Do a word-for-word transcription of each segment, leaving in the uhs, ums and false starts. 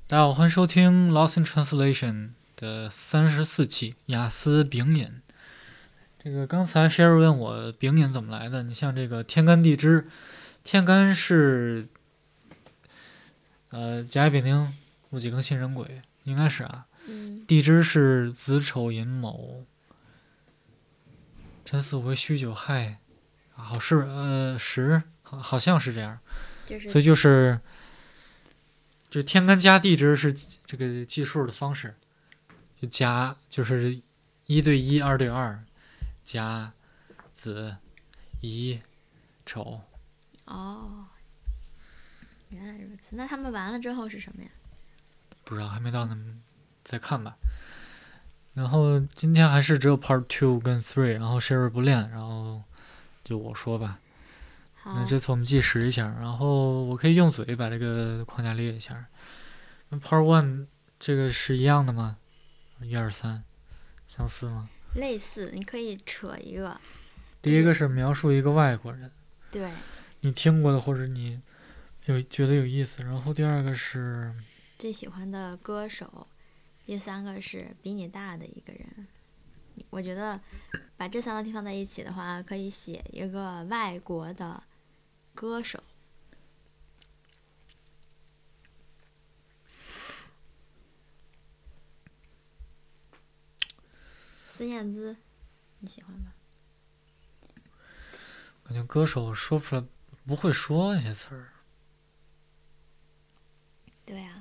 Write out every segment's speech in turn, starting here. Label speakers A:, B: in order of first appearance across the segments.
A: 大家好，欢迎收听 Lost in Translation 的三十四期雅思丙引。这个刚才 Sherry 问我丙引怎么来的，你像这个天干地支，天干是呃甲乙丙丁戊己庚辛壬癸，应该是啊。
B: 嗯，
A: 地支是子丑寅卯辰巳午未戌九亥，好是呃时，好好像是这样。
B: 就是
A: 所以就是这天干加地支是这个计数的方式，就加就是一对一，二对二，加子乙丑。
B: 哦，原来如此。那他们完了之后是什么呀？
A: 不知道还没到那么再看吧。然后今天还是只有 Part Two 跟 Three， 然后 Sherry 不练，然后就我说吧。那
B: 好，
A: 这次我们计时一下，然后我可以用嘴把这个框架列一下。那 Part One 这个是一样的吗？一二三，相似吗？
B: 类似，你可以扯一个。
A: 第一个是描述一个外国人，
B: 对，
A: 你听过的或者你有觉得有意思。然后第二个是
B: 最喜欢的歌手。第三个是比你大的一个人。我觉得把这三个地方在一起的话，可以写一个外国的歌手。孙燕姿，你喜欢吗？
A: 感觉歌手说不出来，不会说那些词儿。
B: 对啊。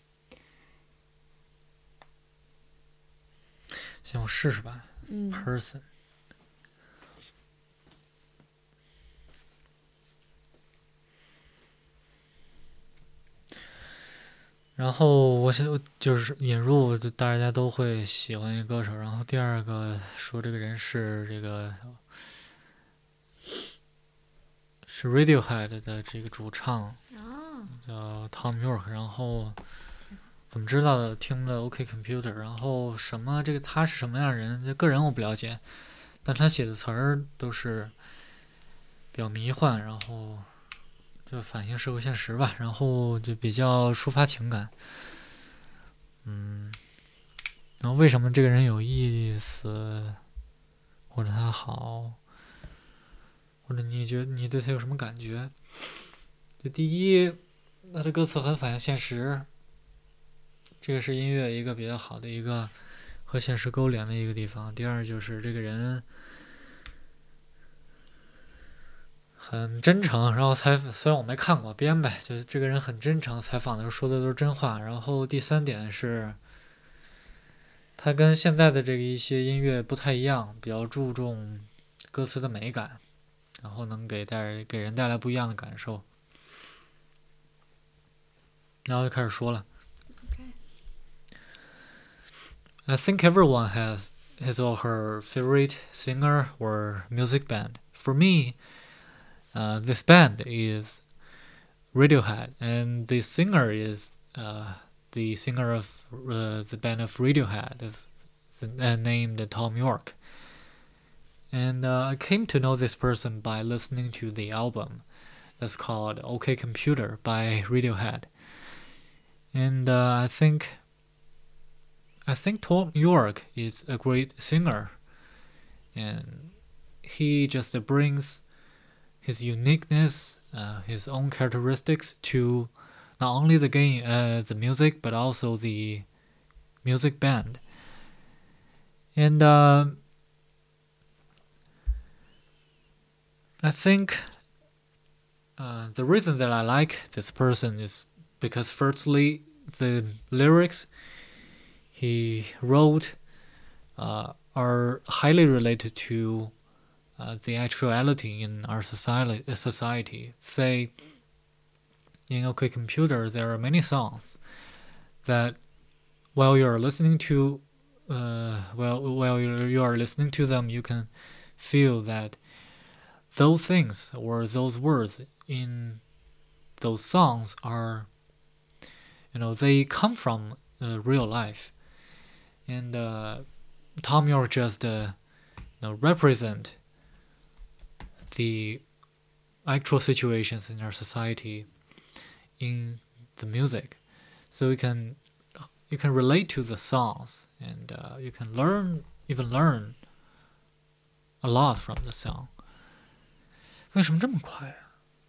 A: 行，我试试吧。
B: 嗯
A: Person。然后我想就是引入，大家都会喜欢一个歌手。然后第二个说这个人是这个是 Radiohead 的这个主唱，
B: 哦，
A: 叫 Tom York。然后怎么知道的？听了 OK Computer。然后什么这个他是什么样的人？这个人我不了解，但他写的词儿都是比较迷幻，然后就反映社会现实吧，然后就比较抒发情感。嗯，然后为什么这个人有意思，或者他好，或者你觉得你对他有什么感觉？就第一，他的歌词很反映现实，这个是音乐一个比较好的一个和现实勾连的一个地方。第二就是这个人很真诚，然后采虽然我没看过编呗，就是这个人很真诚，采访的时候说的都是真话。然后第三点是，他跟现在的这个一些音乐不太一样，比较注重歌词的美感，然后能给带给人带来不一样的感受。然后就开始说了。
B: Okay.
A: I think everyone has his or her favorite singer or music band. For me, uh, this band is Radiohead, and the singer is uh, the singer of uh, the band of Radiohead, is uh, named Tom York. And uh, I came to know this person by listening to the album that's called OK Computer by Radiohead. And uh, I think I think Tom York is a great singer, and he just brings his uniqueness, uh, his own characteristics to not only the game, uh, the music, but also the music band. And uh, I think uh, the reason that I like this person is because, firstly, the lyrics he wrote uh, are highly related to uh, the actuality in our society. Society, say, in OK Computer, there are many songs that, while you are listening to, uh, well, while you are listening to them, you can feel that those things or those words in those songs are, you know, they come from uh, real life. And uh, Tom York just uh, you know, represent the actual situations in our society in the music. so you can you can relate to the songs, and uh, you can learn even learn a lot from the song. 为什么这么快啊？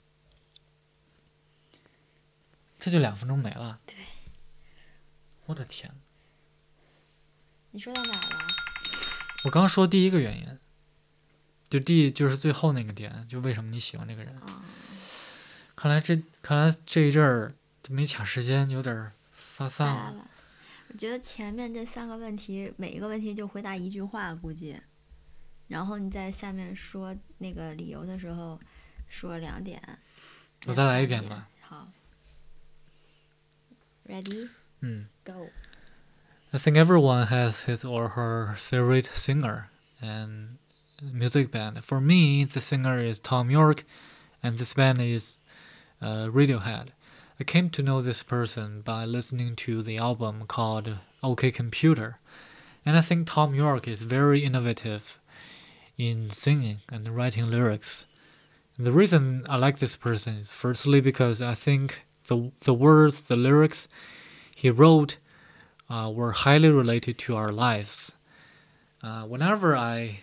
A: 这就两分钟没了。
B: 对，
A: 我的天！
B: 你说到哪儿了？
A: 我刚说第一个原因，就第就是最后那个点，就为什么你喜欢这个人。
B: 哦，
A: 看来这看来这一阵儿就没卡时间，有点发散了。
B: 来了。我觉得前面这三个问题，每一个问题就回答一句话，估计。然后你在下面说那个理由的时候，说两点。
A: 我再来一遍吧。
B: 好。Ready?
A: 嗯。
B: Go.
A: I think everyone has his or her favorite singer and music band. For me, the singer is Tom York, and this band is uh, Radiohead. I came to know this person by listening to the album called OK Computer, and I think Tom York is very innovative in singing and writing lyrics. And the reason I like this person is firstly because I think the the words, the lyrics he wrote uh, were highly related to our lives. Uh, whenever I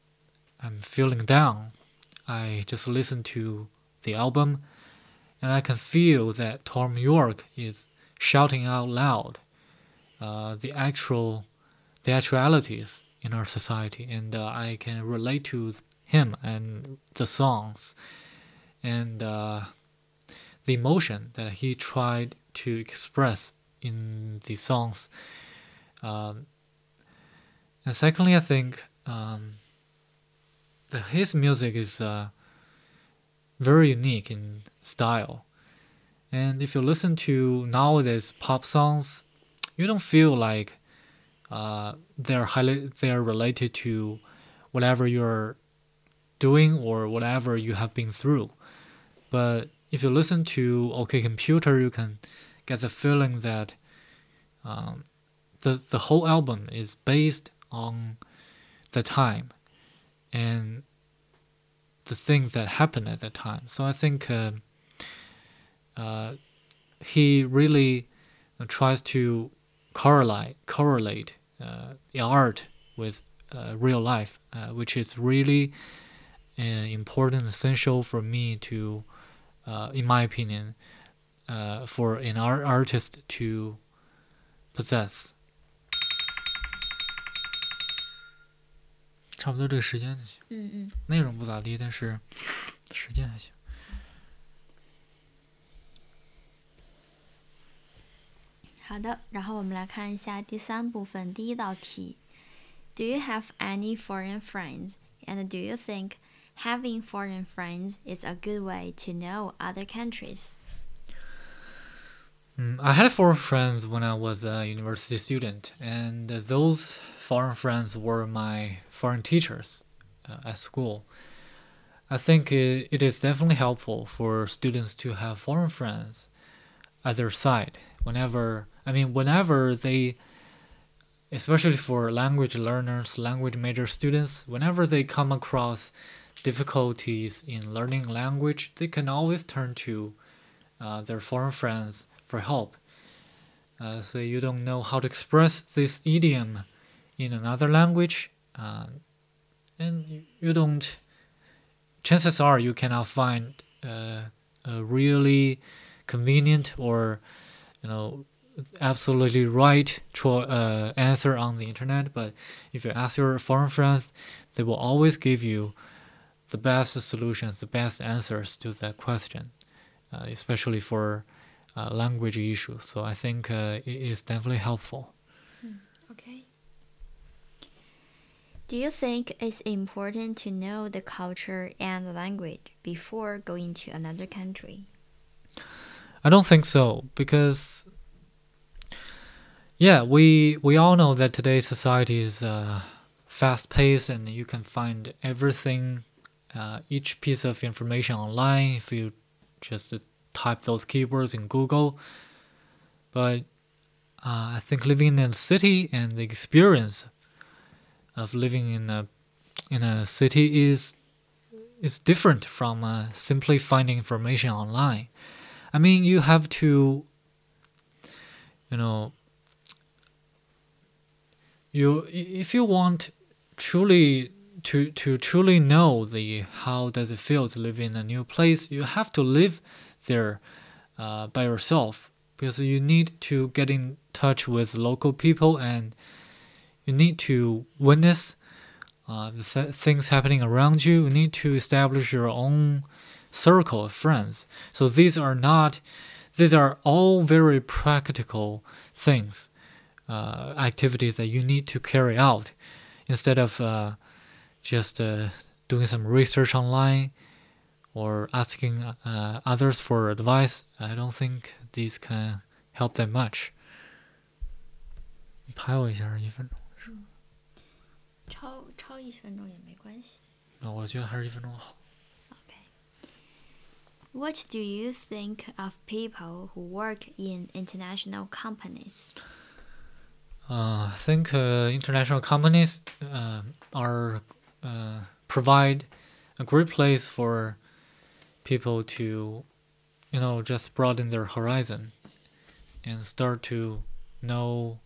A: am feeling down, I just listen to the album, and I can feel that Tom York is shouting out loud uh, the actual the actualities in our society, and uh, I can relate to him and the songs and uh, the emotion that he tried to express in the songs. Um, and secondly, I think um, that his music is uh, very unique in style. And if you listen to nowadays pop songs, you don't feel like uh, they're highly they're related to whatever you're doing or whatever you have been through. But if you listen to OK Computer, you can get the feeling that um, the the whole album is based on the time and the things that happened at that time. So I think uh, uh, he really tries to correlate correlate uh, the art with uh, real life, uh, which is really uh, important, essential for me to, uh, in my opinion, uh, for an art artist to possess. 差不多这个时间就行。
B: 嗯嗯。
A: 内容不咋地，但是时间还行。
B: 好的，然后我们来看一下第三部分第一道题。Do you have any foreign friends? And do you think having foreign friends is a good way to know other countries?
A: Mm, I had foreign friends when I was a university student, and those foreign friends were my foreign teachers uh, at school. I think it, it is definitely helpful for students to have foreign friends at their side whenever, I mean, whenever they, especially for language learners, language major students, whenever they come across difficulties in learning language, they can always turn to uh, their foreign friends for help. Uh, so you don't know how to express this idiom in another language, uh, and you don't, chances are you cannot find uh, a really convenient or, you know, absolutely right cho- uh, answer on the internet. But if you ask your foreign friends, they will always give you the best solutions, the best answers to that question, uh, especially for uh, language issues. So I think uh, it is definitely helpful.
B: Mm, okay. Do you think it's important to know the culture and the language before going to another country?
A: I don't think so, because yeah, we we all know that today's society is uh, fast-paced, and you can find everything, uh, each piece of information online if you just uh, type those keywords in Google. But uh, I think living in a city and the experience of living in a in a city is is different from uh, simply finding information online. I mean, you have to you know, you if you want truly to to truly know the how does it feel to live in a new place, you have to live there uh, by yourself, because you need to get in touch with local people, and you need to witness uh, the th- things happening around you. You need to establish your own circle of friends. So these are not, these are all very practical things, uh, activities that you need to carry out instead of uh, just uh, doing some research online or asking uh, others for advice. I don't think these can help that much. 拍我一下一分钟。
B: 超超一分钟也没关系。
A: 啊，我觉得还是一分钟好。
B: Okay. What do you think of people who work in international companies?
A: Uh, I think uh, international companies uh, are uh, provide a great place for people to, you know, just broaden their horizon and start to know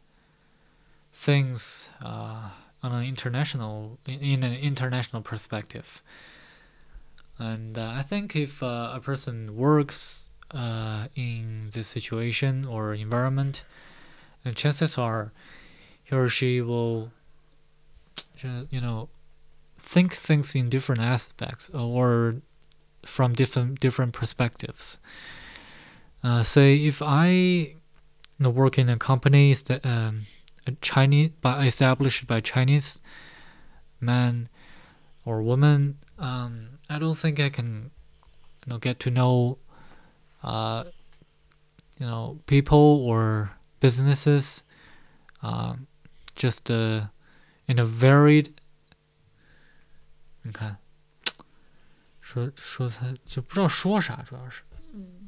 A: things uh, on an international in, in an international perspective. And uh, I think if uh, a person works uh, in this situation or environment, and chances are he or she will, you know, think things in different aspects or from different different perspectives. Uh, say if I you know, work in a company that um, a Chinese by established by Chinese man or woman, um, I don't think I can, you know, get to know, uh, you know, people or businesses, um, just uh, in a varied. 你看，说说他就不知道说啥，主要是。
B: 嗯。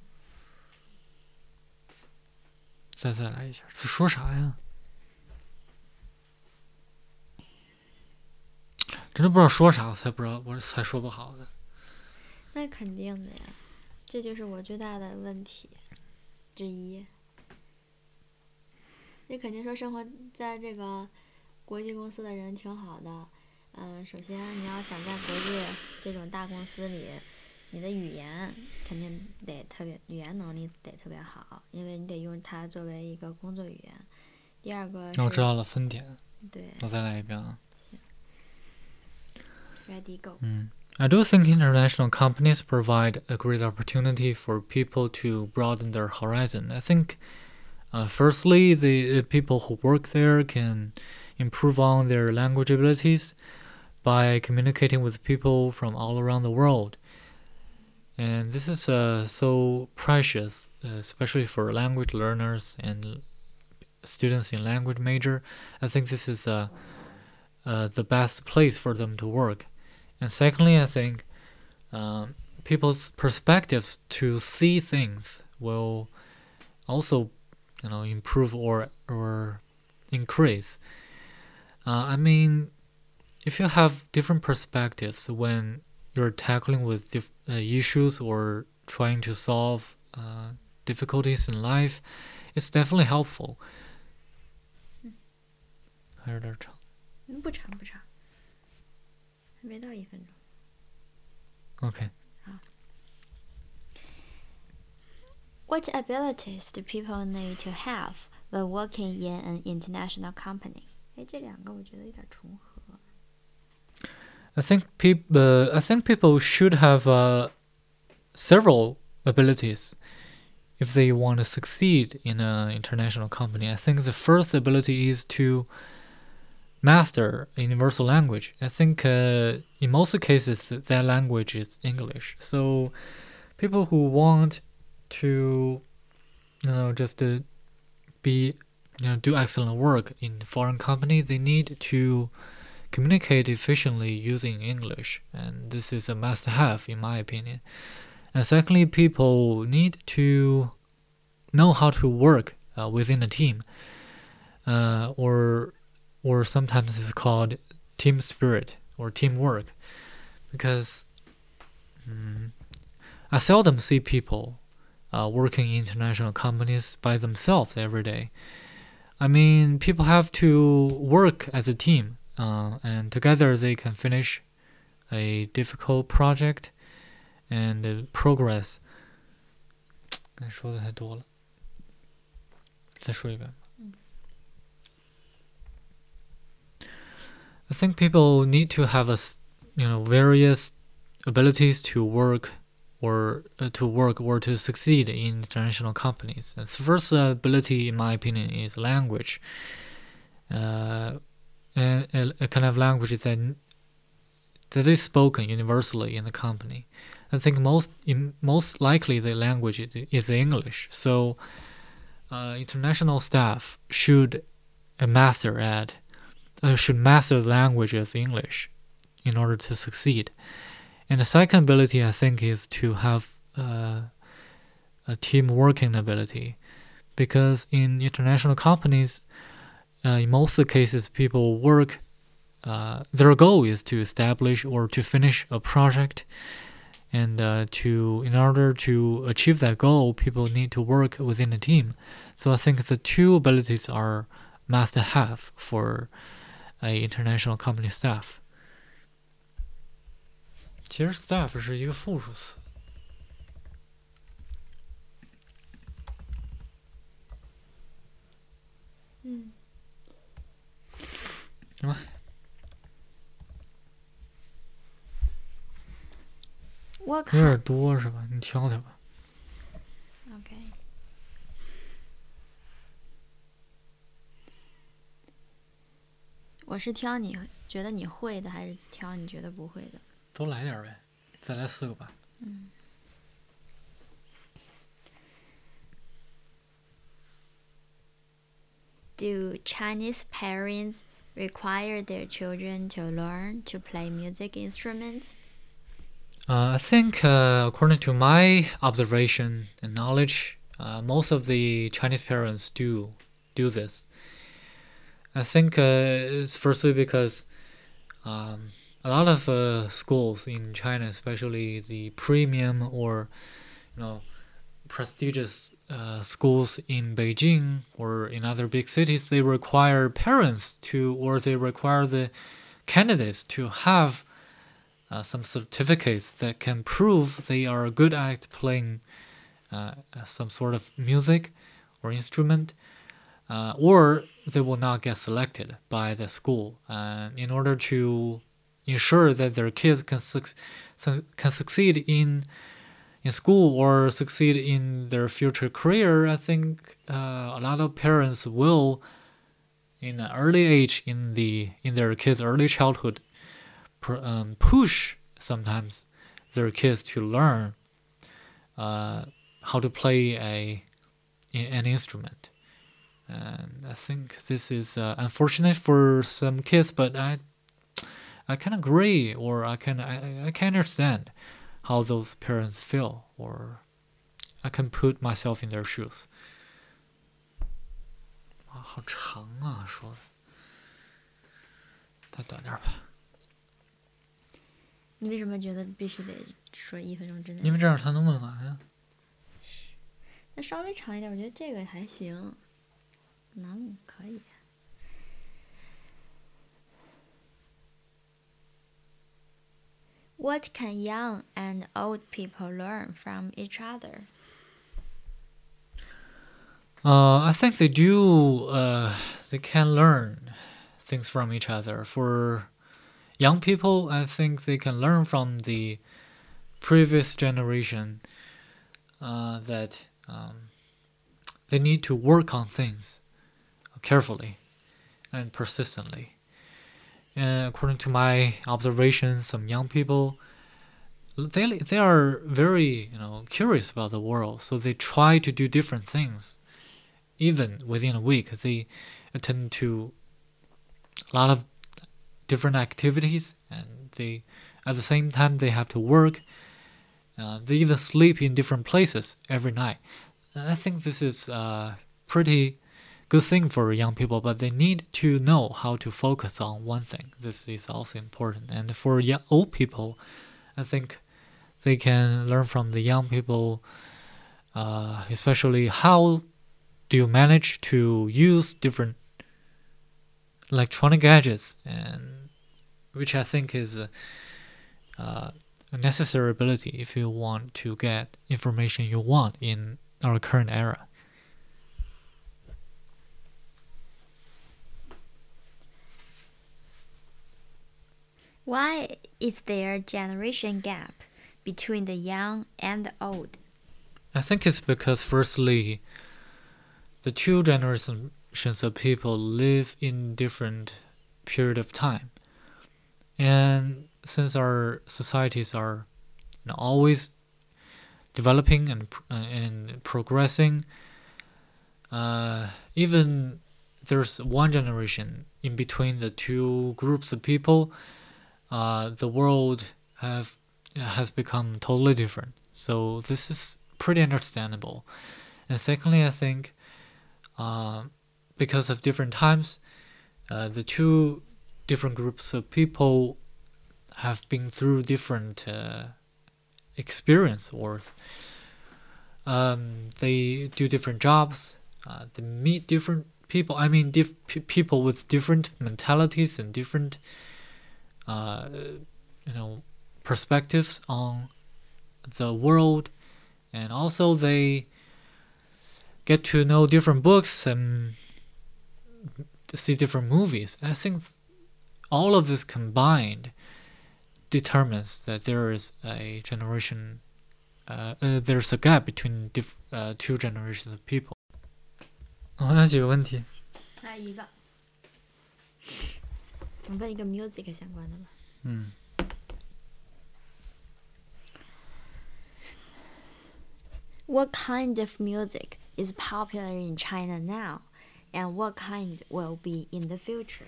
A: 再再来一下，这说啥呀？真的不知道说啥，我才不知道，我才说不好的。
B: 那肯定的呀，这就是我最大的问题之一。你肯定说生活在这个国际公司的人挺好的，嗯、呃，首先你要想在国际这种大公司里，你的语言肯定得特别，语言能力得特别好，因为你得用它作为一个工作语言。第二个是，
A: 我知道了，分点。
B: 对。
A: 我再来一遍啊。
B: Ready, go.
A: Mm. I do think international companies provide a great opportunity for people to broaden their horizon. I think, uh, firstly, the people who work there can improve on their language abilities by communicating with people from all around the world. And this is uh, so precious, uh, especially for language learners and students in language major. I think this is uh, uh, the best place for them to work. And secondly, I think um, people's perspectives to see things will also, you know, improve or or increase. Uh, I mean, if you have different perspectives when you're tackling with dif- uh, issues or trying to solve uh, difficulties in life, it's definitely helpful. 还有点长。
B: 不长不长。没到一分钟。
A: Okay.
B: What abilities do people need to have when working in an international company? 哎，这两个我觉得有点重合。
A: I think people. Uh, I think people should have uh, several abilities if they want to succeed in an international company. I think the first ability is to master a universal language. I think uh, in most cases that, that language is English. So people who want to, you know, just to be, you know, do excellent work in foreign company, they need to communicate efficiently using English, and this is a must-have in my opinion. And secondly, people need to know how to work uh, within a team, uh, or or sometimes it's called team spirit or teamwork, because um, I seldom see people uh, working in international companies by themselves every day. I mean, people have to work as a team, uh, and together they can finish a difficult project and uh, progress. 说的太多了，再说一遍吧。I think people need to have a, you know, various abilities to work or uh, to work or to succeed in international companies. And the first ability, in my opinion, is language. Uh, and a, a kind of language that that is spoken universally in the company. I think most in, most likely the language is English. So uh, international staff should uh, master at uh, should master the language of English in order to succeed. And the second ability, I think, is to have uh, a team working ability, because in international companies, uh, in most of the cases, people work. Uh, their goal is to establish or to finish a project, and uh, to in order to achieve that goal, people need to work within a team. So I think the two abilities are must have for a international company staff. 其实 staff 是一个复数词。
B: 嗯。
A: 什么？
B: 我看
A: 有点多是吧？你挑挑吧。
B: OK。我是挑你觉得你会的，还是挑你觉得不会的？
A: 都来点呗，再来四个吧。
B: 嗯。Do Chinese parents require their children to learn to play music instruments?
A: Uh, I think, uh, according to my observation and knowledge, uh, most of the Chinese parents do do this. I think uh, it's firstly because um, a lot of uh, schools in China, especially the premium or you know prestigious uh, schools in Beijing or in other big cities, they require parents to, or they require the candidates to have uh, some certificates that can prove they are good at playing uh, some sort of music or instrument, uh, or they will not get selected by the school. And uh, in order to ensure that their kids can su- can succeed in in school or succeed in their future career, I think uh, a lot of parents will, in an early age, in the in their kids' early childhood, pr- um, push sometimes their kids to learn uh, how to play a an instrument. And I think this is uh, unfortunate for some kids, but I I can agree, or I can I, I can understand how those parents feel, or I can put myself in their shoes. 哇，好长啊，说的，再短点吧。
B: 你为什么觉得必须得说一分钟之内？
A: 因为这样才能问完呀。
B: 那稍微长一点，我觉得这个还行，能可以。What can young and old people learn from each other?
A: Uh, I think they do. Uh, they can learn things from each other. For young people, I think they can learn from the previous generation uh, that um, they need to work on things carefully and persistently. And according to my observations, some young people they they are very you know curious about the world, so they try to do different things. Even within a week, they attend to a lot of different activities, and they at the same time they have to work. Uh, they even sleep in different places every night. I think this is a pretty good thing for young people, but they need to know how to focus on one thing. This is also important. And for young, old people, I think they can learn from the young people uh, especially how do you manage to use different electronic gadgets, and which I think is a, uh, a necessary ability if you want to get information you want in our current era.
B: Why is there generation gap between the young and the old?
A: I think it's because, firstly, the two generations of people live in different period of time, and since our societies are, you know, always developing and uh, and progressing, uh, even there's one generation in between the two groups of people, uh, the world have has become totally different. So this is pretty understandable. And secondly, I think uh, because of different times, uh, the two different groups of people have been through different uh, experience, or um, they do different jobs, uh, they meet different people. I mean, diff- p- people with different mentalities and different, uh, you know, perspectives on the world, and also they get to know different books and see different movies. I think all of this combined determines that there is a generation, uh, uh, there's a gap between diff- uh, two generations of people. 哦，那几个问题。
B: 还有一个，我问一个 music 相关的吧。
A: 嗯。
B: What kind of music is popular in China now, and what kind will be in the future?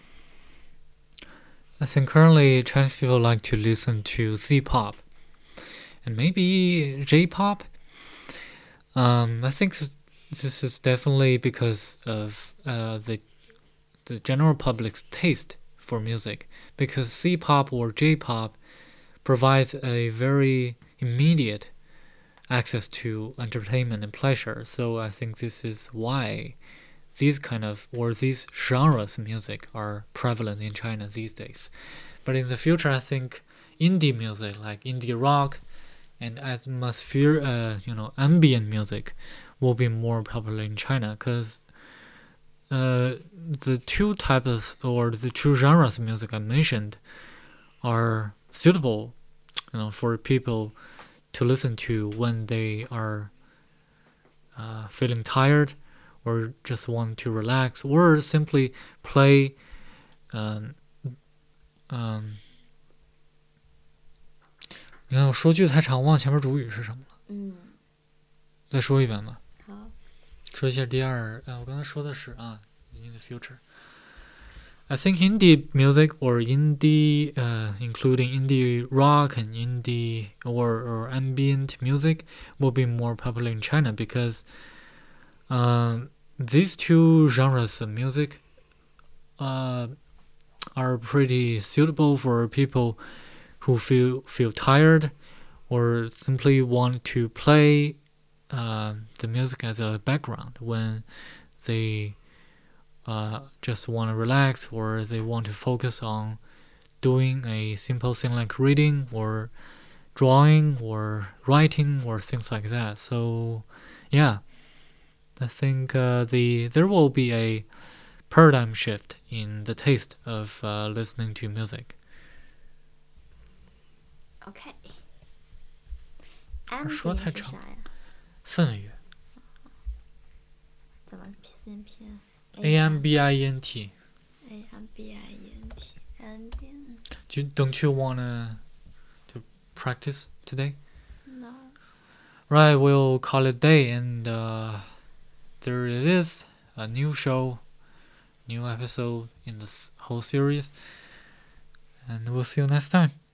A: I think currently Chinese people like to listen to Z-pop and maybe J-pop. Um, I think this is definitely because of uh, the the general public's taste for music, because C-pop or J-pop provides a very immediate access to entertainment and pleasure. So I think this is why these kind of, or these genres of music are prevalent in China these days. But in the future, I think indie music, like indie rock and atmosphere, uh, you know, ambient music, will be more popular in China, because uh, the two types or the two genres of music I mentioned are suitable, you know, for people to listen to when they are uh, feeling tired, or just want to relax, or simply play. Um, um, 你看我说句太长，忘前面主语是什么了。
B: 嗯，
A: 再说一遍吧。
B: 好。
A: 说一下第二，呃，我刚才说的是啊 ，in the future. I think indie music or indie, uh, including indie rock and indie or, or ambient music, will be more popular in China, because um, these two genres of music uh, are pretty suitable for people who feel feel tired, or simply want to play uh, the music as a background when they uh, just want to relax, or they want to focus on doing a simple thing like reading or drawing or writing or things like that. So yeah, I think uh, the there will be a paradigm shift in the taste of uh, listening to music.
B: OK。
A: 说
B: ambient
A: 太长
B: 是啥呀？
A: 氛围乐
B: 怎么拼拼
A: A M B I E N T.
B: A M B I E N T. Ambient.
A: Do, don't you wanna to practice today?
B: No.
A: Right, we'll call it day, and uh, there it is, a new show, new episode in this whole series, and we'll see you next time.